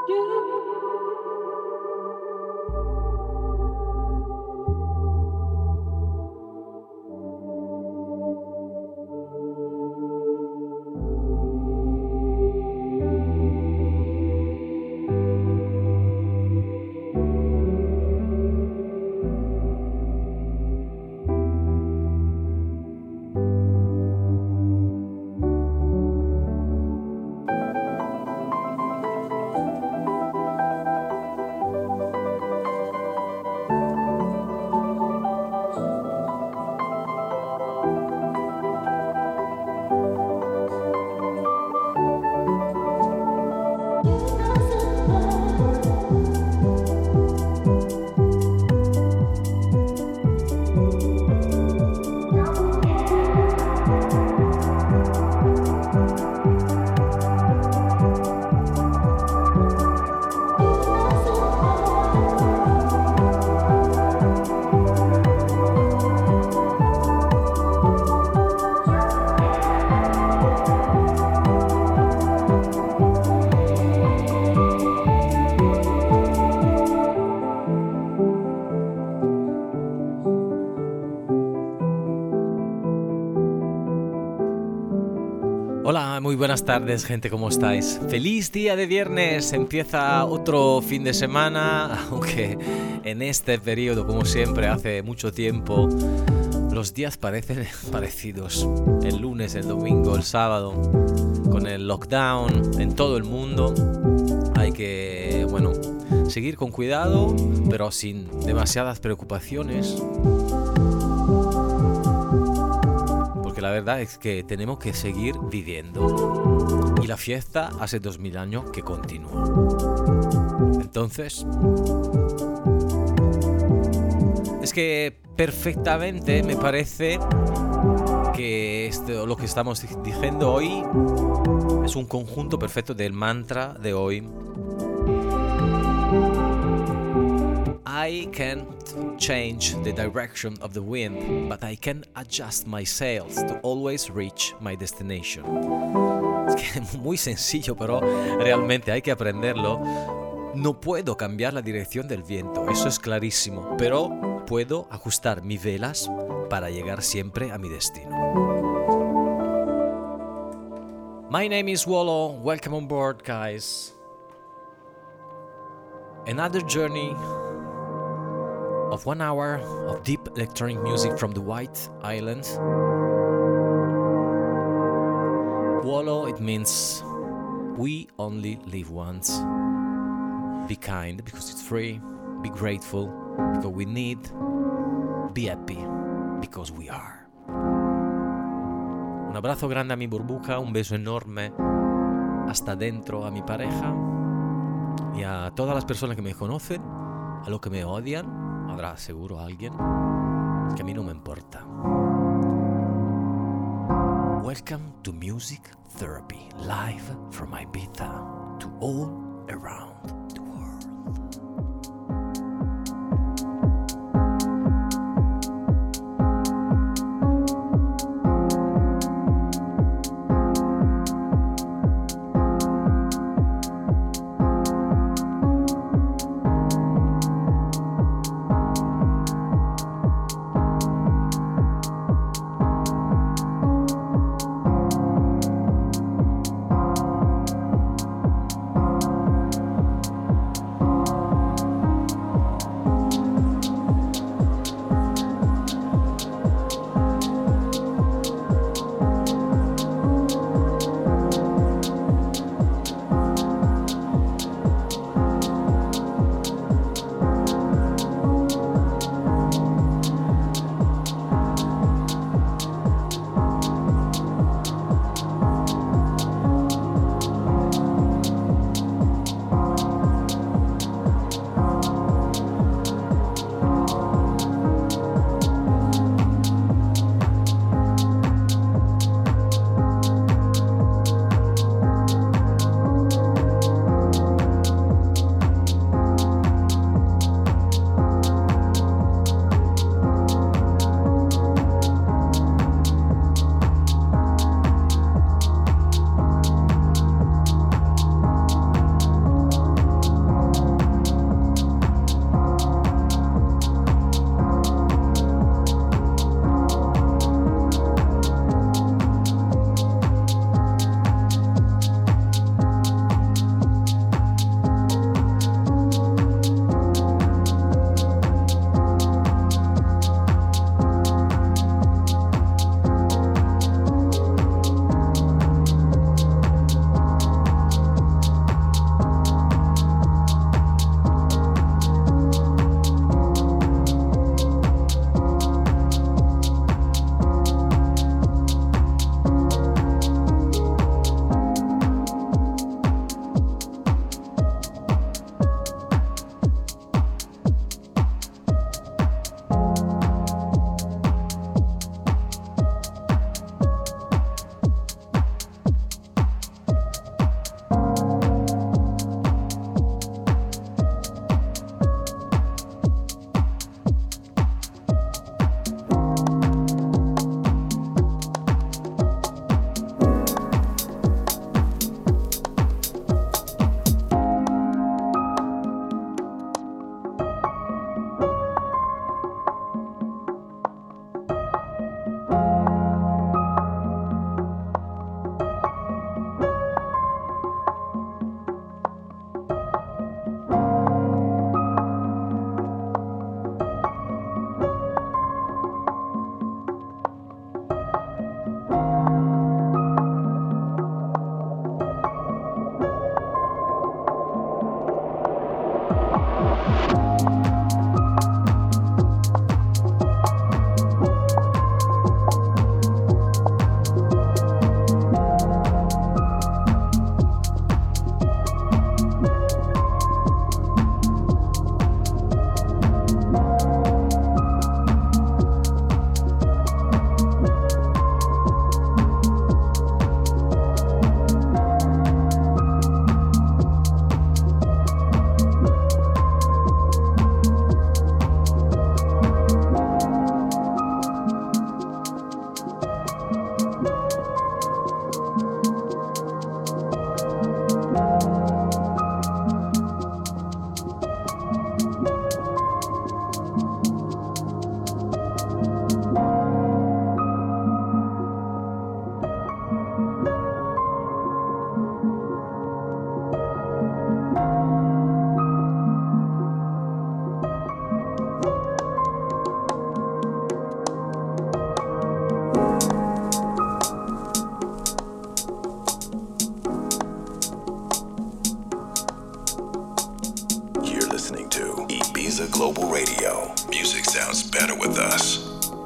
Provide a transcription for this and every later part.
Hola, muy buenas tardes, gente, ¿cómo estáis? ¡Feliz día de viernes! Empieza otro fin de semana, aunque en este periodo, como siempre, hace mucho tiempo, los días parecen parecidos. El lunes, el domingo, el sábado, con el lockdown en todo el mundo, hay que, seguir con cuidado, pero sin demasiadas preocupaciones. Porque la verdad es que tenemos que seguir viviendo. Y la fiesta hace 2000 años que continúa. Entonces, es que perfectamente me parece que lo que estamos diciendo hoy es un conjunto perfecto del mantra de hoy. I can't change the direction of the wind, but I can adjust my sails to always reach my destination. Es que es muy sencillo, pero realmente hay que aprenderlo. No puedo cambiar la dirección del viento, eso es clarísimo, pero puedo ajustar mis velas para llegar siempre a mi destino. My name is Wallo. Welcome on board, guys. Another journey of 1 hour of deep electronic music from the White Islands. Wallo, it means we only live once. Be kind because it's free. Be grateful because we need. Be happy because we are. Un abrazo grande a mi burbuja, un beso enorme hasta dentro a mi pareja y a todas las personas que me conocen, a los que me odian. Habrá seguro alguien que a mí no me importa. Welcome to Music Therapy, live from Ibiza to all around the world. listening to Ibiza Global Radio. Music sounds better with us.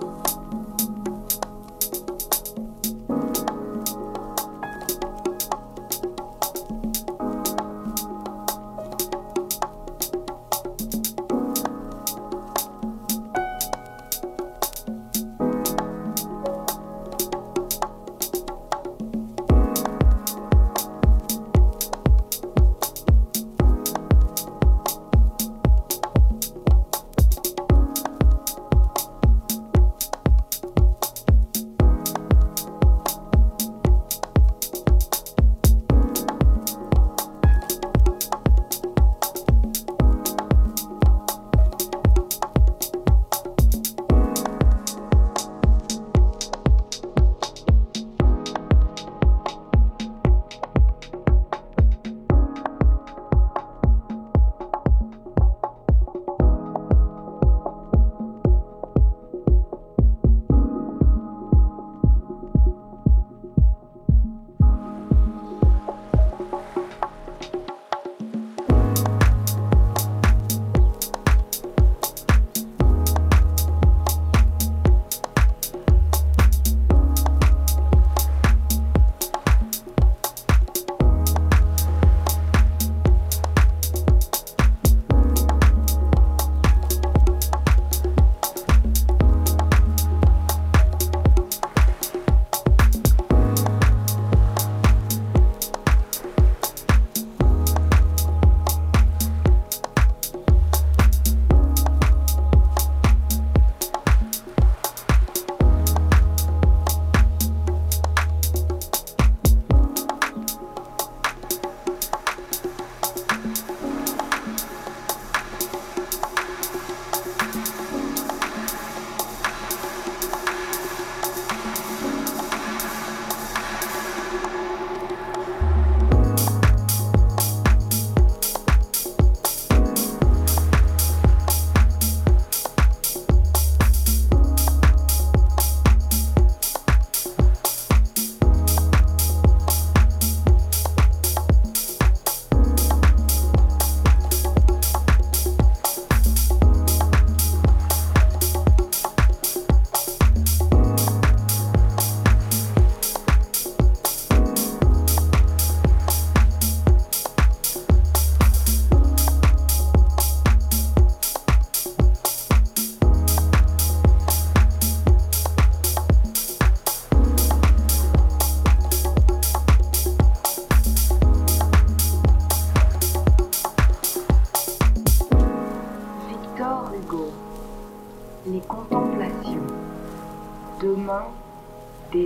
Demain, dès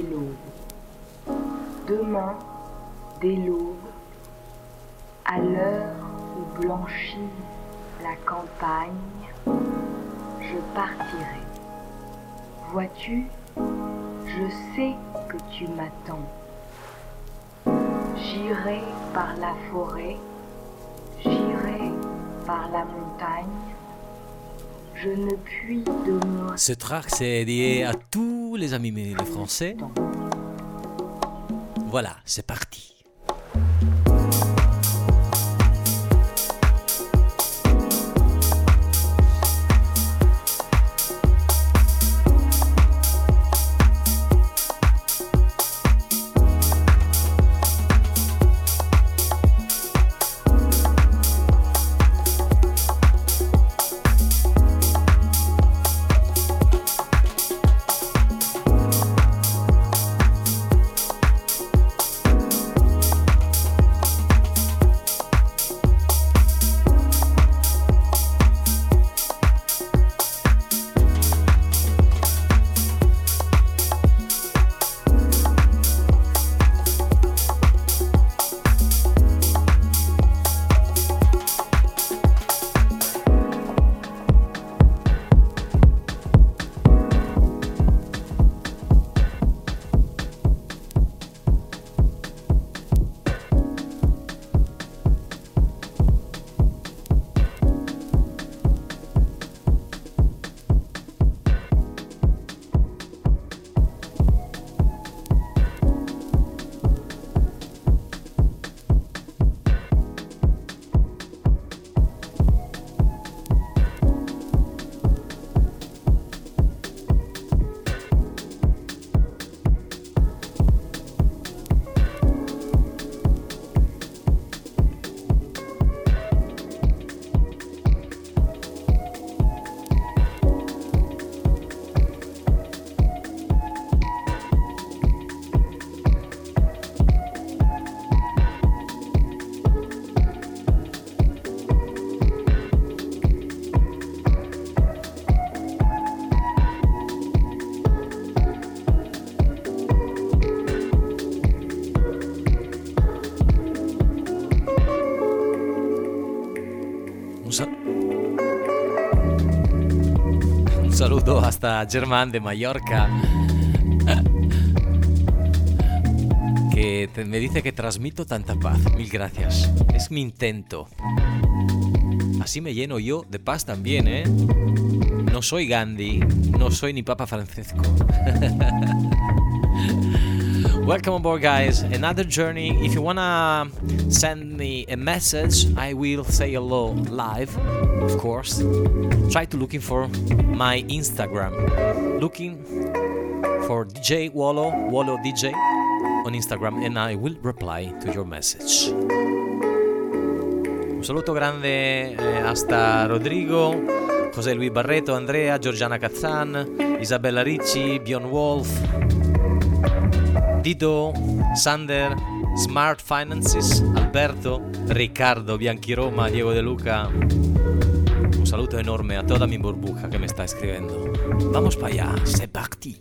l'aube. Demain, dès l'aube, à l'heure où blanchit la campagne, je partirai. Vois-tu, je sais que tu m'attends. J'irai par la forêt, j'irai par la montagne. Je ne puis demeurer. Ce track, c'est dédié à tous les amis les français. Voilà, c'est parti. Un saludo hasta Germán de Mallorca, que me dice que transmito tanta paz. Mil gracias. Es mi intento. Así me lleno yo de paz también, ¿eh? No soy Gandhi, no soy ni Papa Francesco. Welcome aboard, guys. Another journey. If you wanna send me a message, I will say hello live, of course. Try to looking for my Instagram. Looking for DJ Wallo DJ on Instagram, and I will reply to your message. Un saluto grande hasta Rodrigo, José Luis Barreto, Andrea, Giorgiana Cazzan, Isabella Ricci, Bjorn Wolf, Dito, Sander, Smart Finances, Alberto, Riccardo, Bianchi Roma, Diego De Luca. Un saluto enorme a toda mi burbuja que me está escribiendo. Vamos para allá, c'est parti.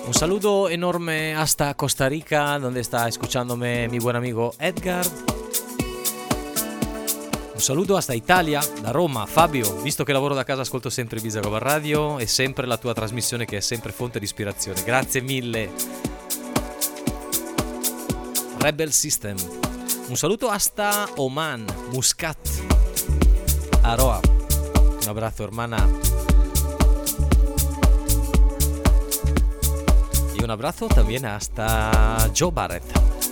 Un saludo enorme hasta Costa Rica, donde está escuchándome mi buen amigo Edgar. Un saluto hasta Italia, da Roma, Fabio. Visto che lavoro da casa ascolto sempre Ibiza Global Radio e sempre la tua trasmissione che è sempre fonte di ispirazione. Grazie mille. Rebel System. Un saluto hasta Oman, Muscat, Aroa. Un abrazo, hermana. Y un abrazo también hasta Joe Barrett.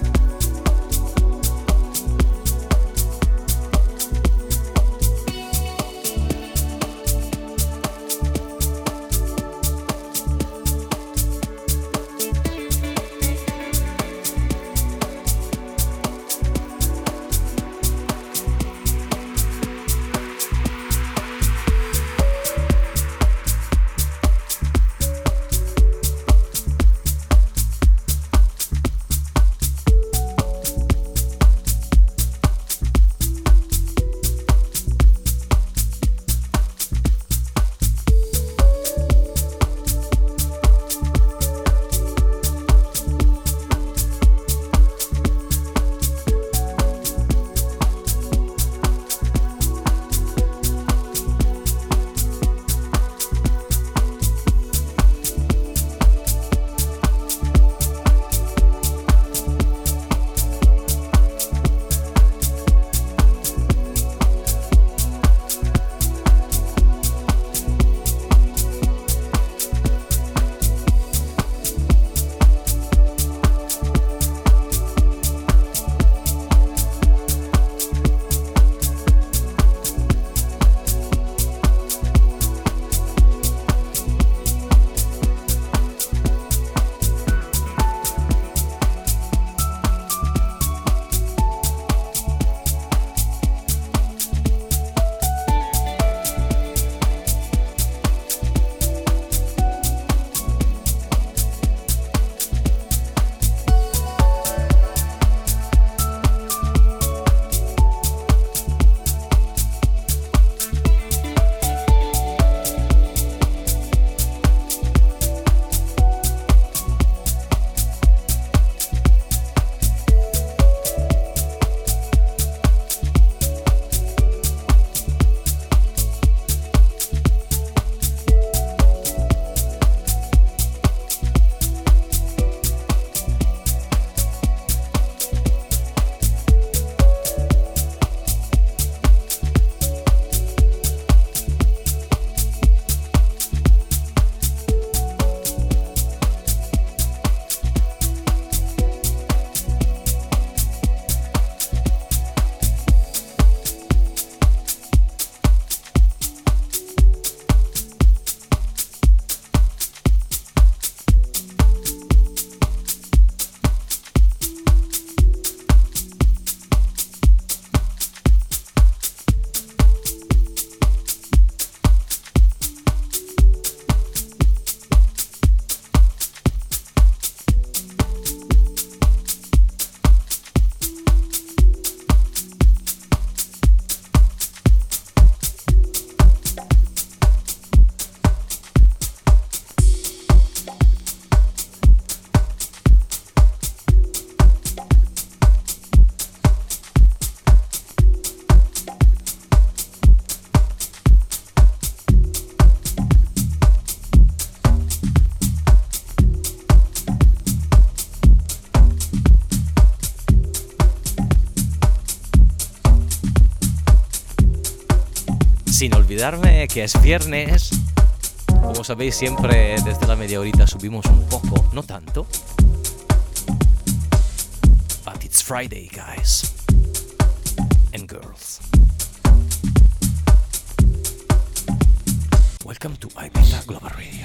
Sin olvidarme que es viernes. Como sabéis, siempre desde la media horita subimos un poco, no tanto. But it's Friday, guys and girls. Welcome to Ibiza Global Radio.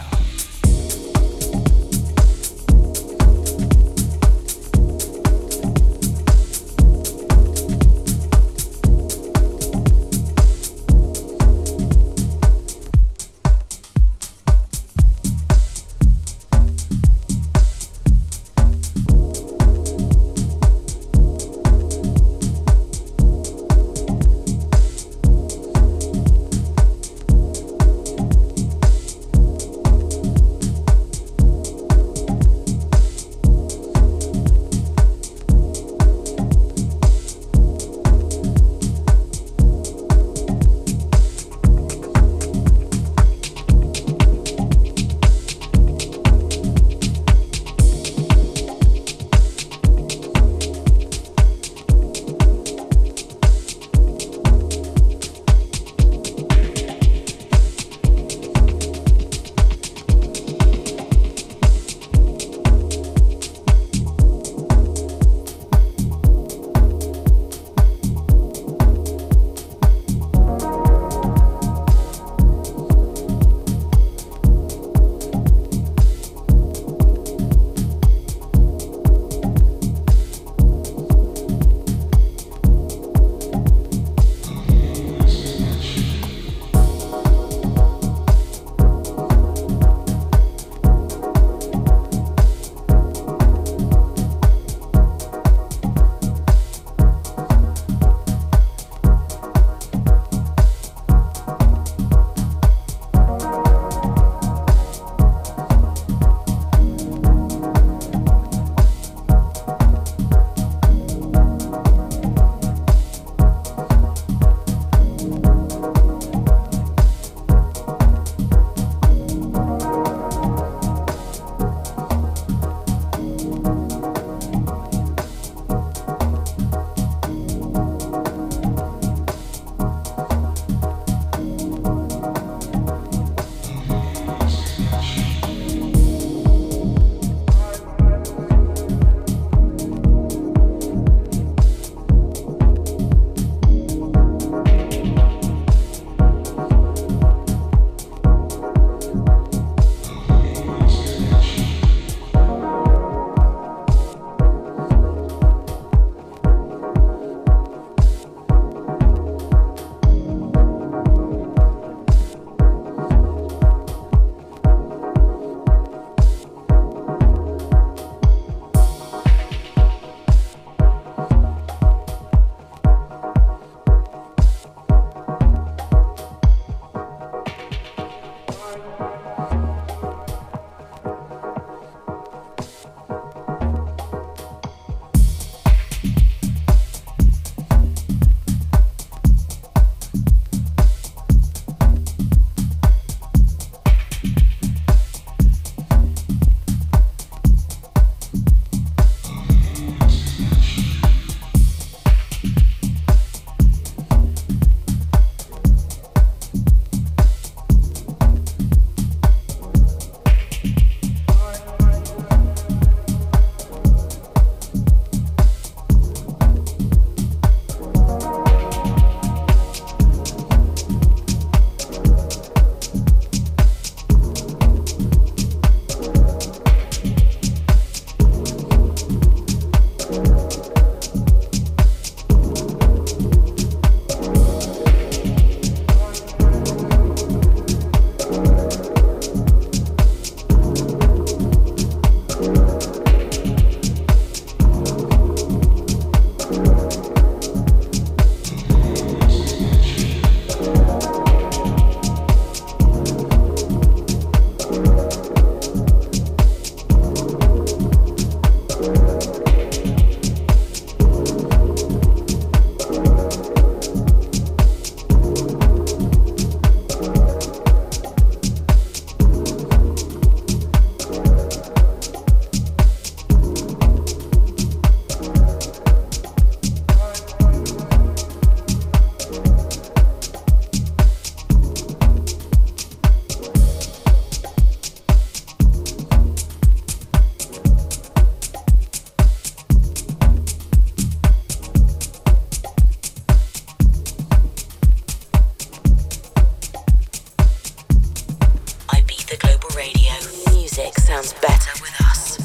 Music sounds better with us.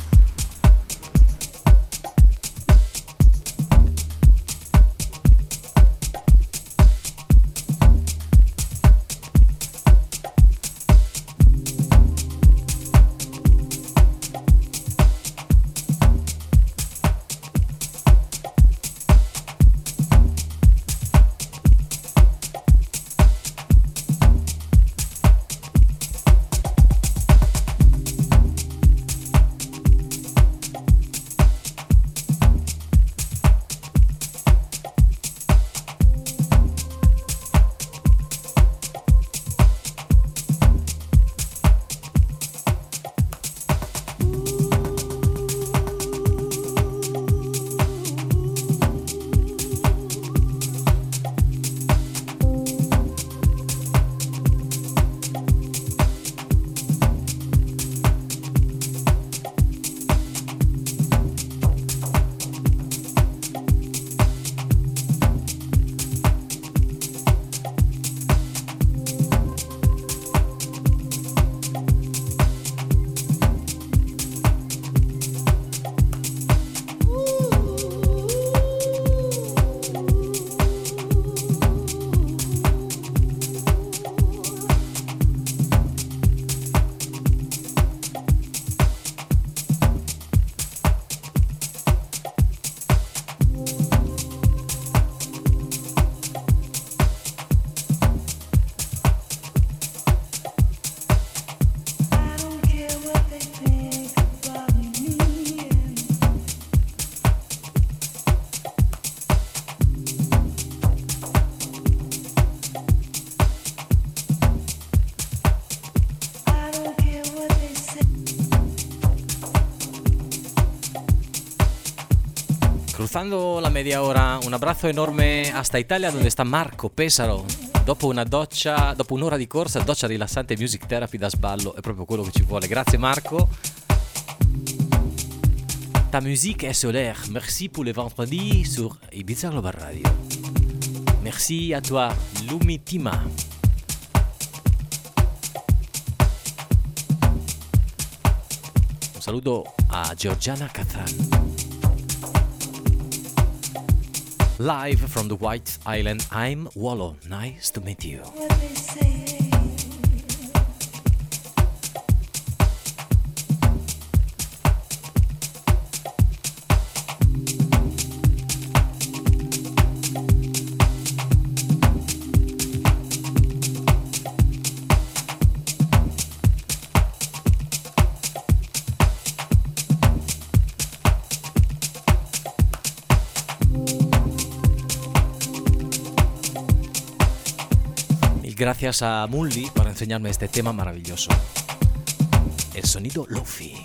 Cruzando la media hora, un abbraccio enorme hasta Italia dove sta Marco Pesaro. Dopo un'ora di corsa, doccia rilassante Music Therapy da sballo è proprio quello che ci vuole. Grazie Marco. Ta musique est solaire. Merci pour le vendredi sur Ibiza Global Radio. Merci à toi, Lumitima. Un saluto a Georgiana Kazan. Live from the White Island, I'm Wallo. Nice to meet you. Gracias a Mully por enseñarme este tema maravilloso. El sonido Lofi.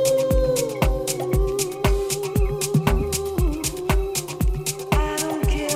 I don't care.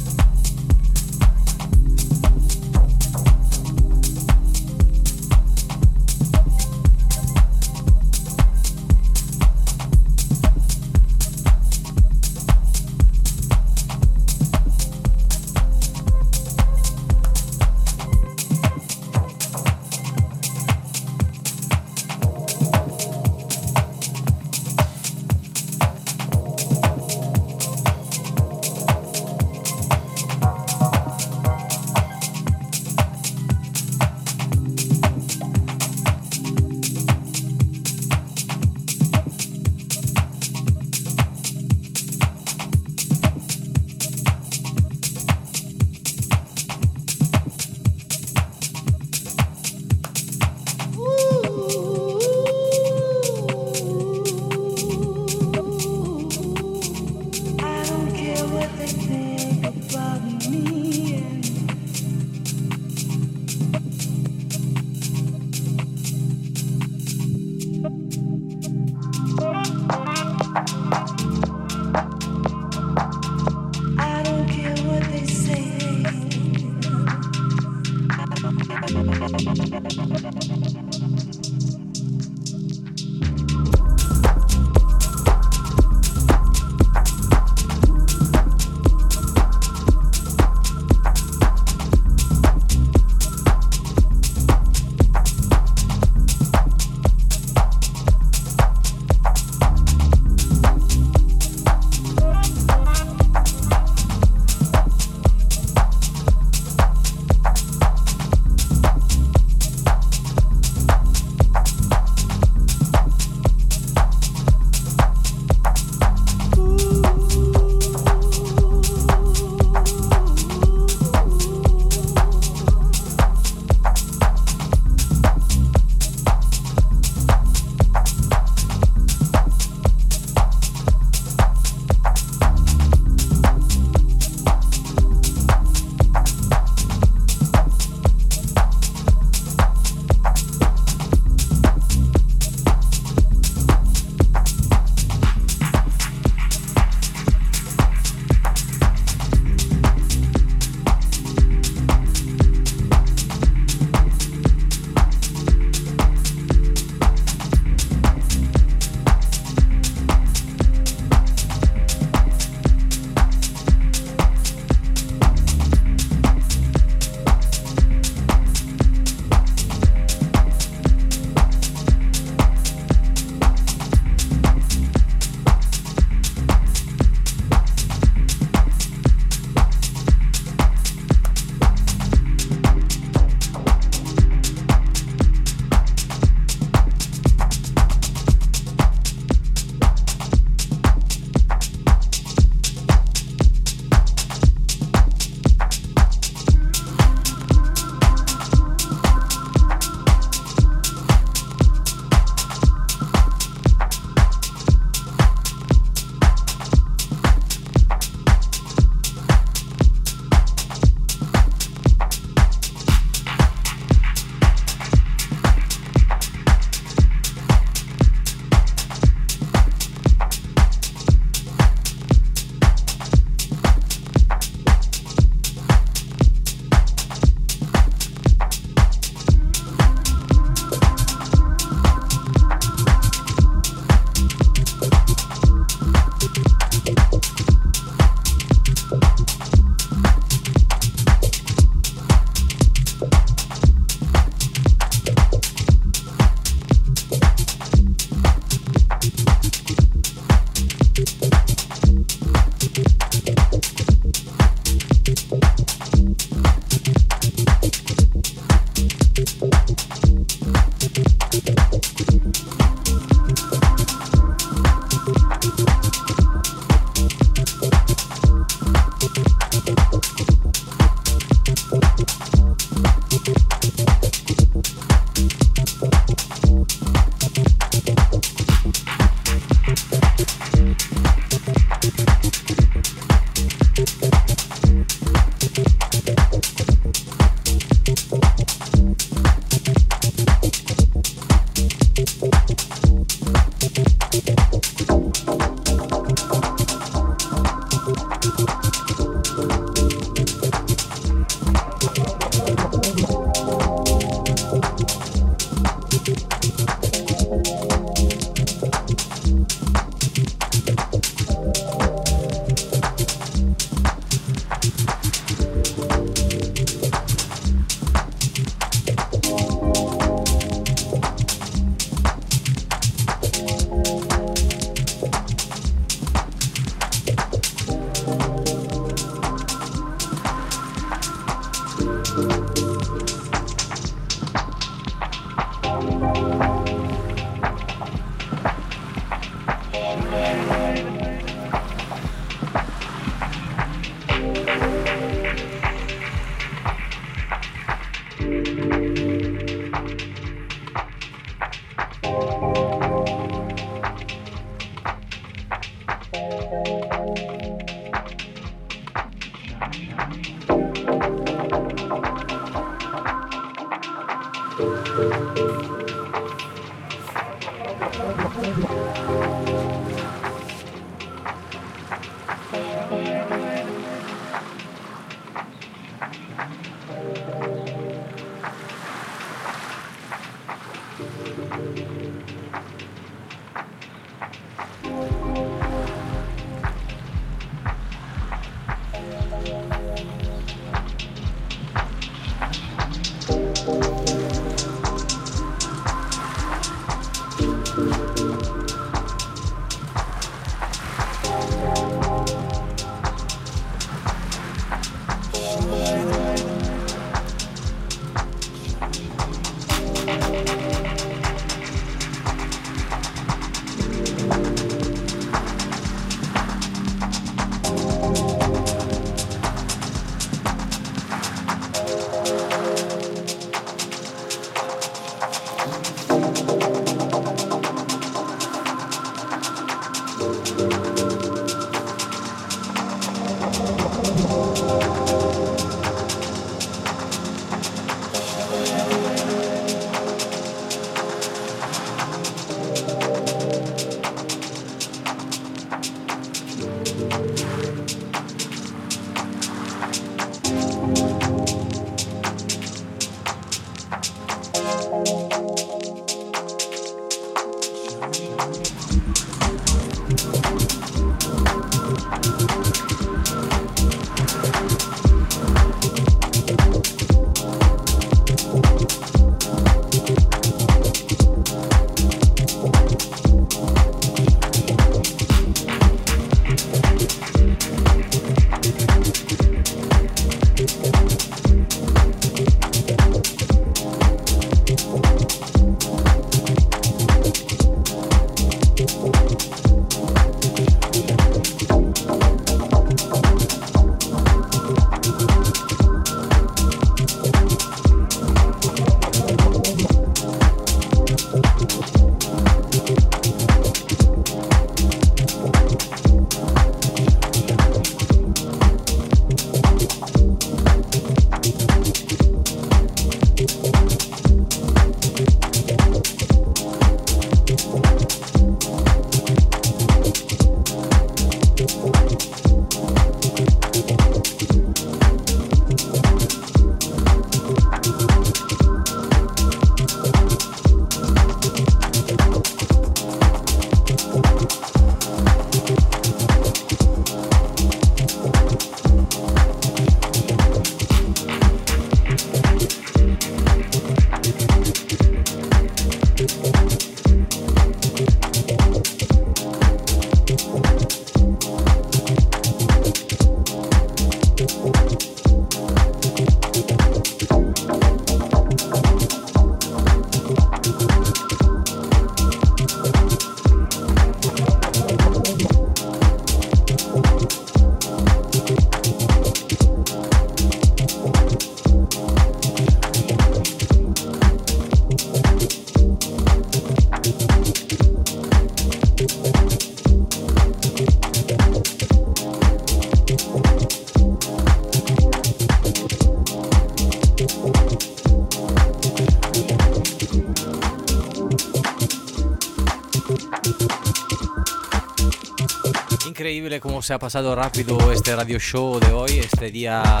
Increíble cómo se ha pasado rápido este radio show de hoy, este día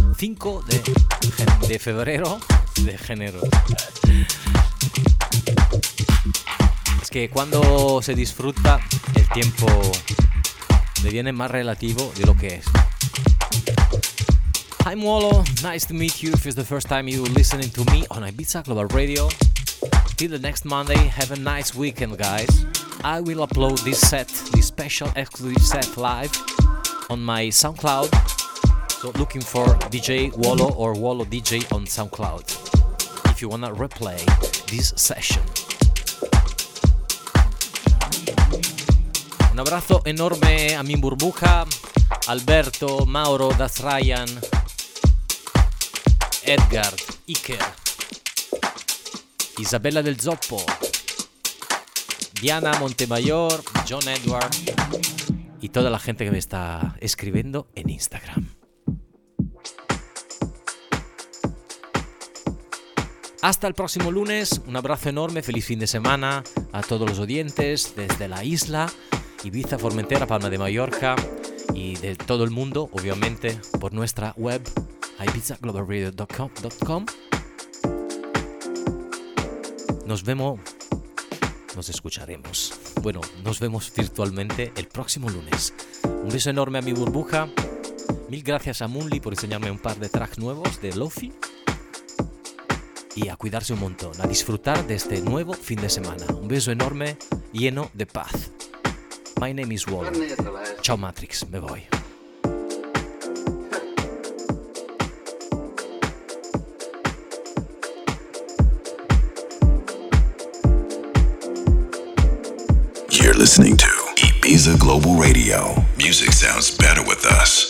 5 de febrero, de enero. Es que cuando se disfruta el tiempo deviene más relativo de lo que es. Hi Muolo, nice to meet you if it's the first time you're listening to me on Ibiza Global Radio. Till the next Monday, have a nice weekend guys. I will upload this special exclusive set live on my SoundCloud. So looking for DJ Wolo or Wolo DJ on SoundCloud if you wanna replay this session. Un abrazo enorme a mi burbuja, Alberto, Mauro, Das Ryan, Edgar, Iker, Isabella del Zoppo, Diana Montemayor, John Edward y toda la gente que me está escribiendo en Instagram. Hasta el próximo lunes, un abrazo enorme, feliz fin de semana a todos los oyentes desde la isla, Ibiza, Formentera, Palma de Mallorca y de todo el mundo, obviamente, por nuestra web ibizaglobalradio.com. Nos escucharemos. Bueno, nos vemos virtualmente el próximo lunes. Un beso enorme a mi burbuja. Mil gracias a Moonly por enseñarme un par de tracks nuevos de Lofi. Y a cuidarse un montón, a disfrutar de este nuevo fin de semana. Un beso enorme, lleno de paz. My name is Wall. Ciao Matrix, me voy. You're listening to Ibiza Global Radio. Music sounds better with us.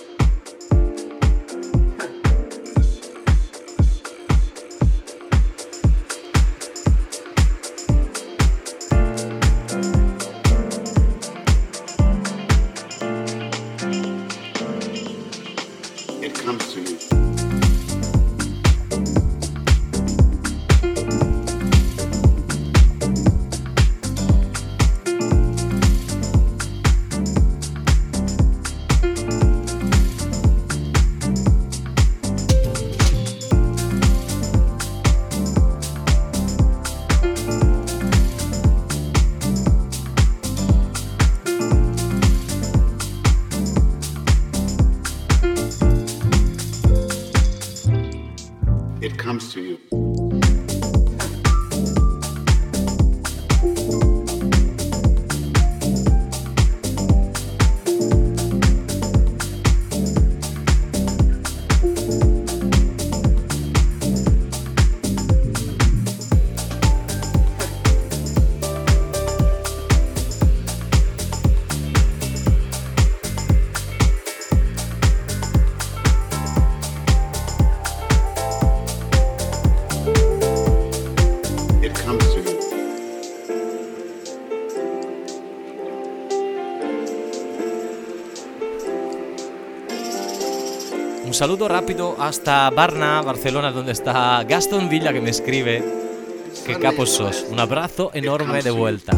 Un saludo rápido hasta Barna, Barcelona, donde está Gaston Villa, que me escribe. Qué capos sos. Un abrazo enorme de vuelta.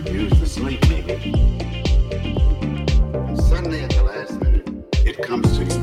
Suddenly at the last minute, it comes to you.